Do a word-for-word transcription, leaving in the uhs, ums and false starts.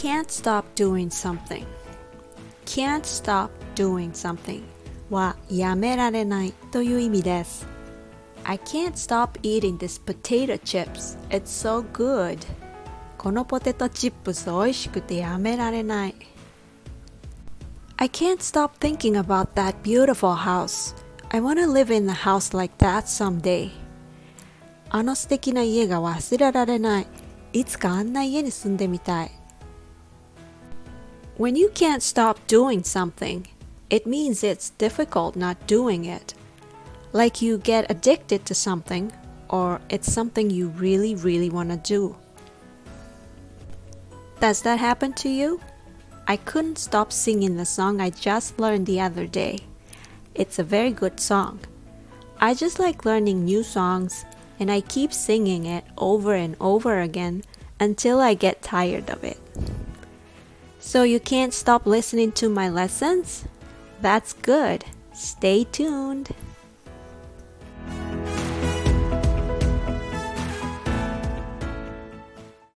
can't stop doing something. Can't stop doing something はやめられないという意味です。I can't stop eating this potato chips. It's so good. このポテトチップス美味しくてやめられない。I can't stop thinking about that beautiful house. I want to live in a house like that someday. あの素敵な家が忘れられない。いつかあんな家に住んでみたい。When you can't stop doing something, it means it's difficult not doing it. Like you get addicted to something, or it's something you really, really want to do. Does that happen to you? I couldn't stop singing the song I just learned the other day. It's a very good song. I just like learning new songs, and I keep singing it over and over again until I get tired of it. So you can't stop listening to my lessons? That's good. Stay tuned.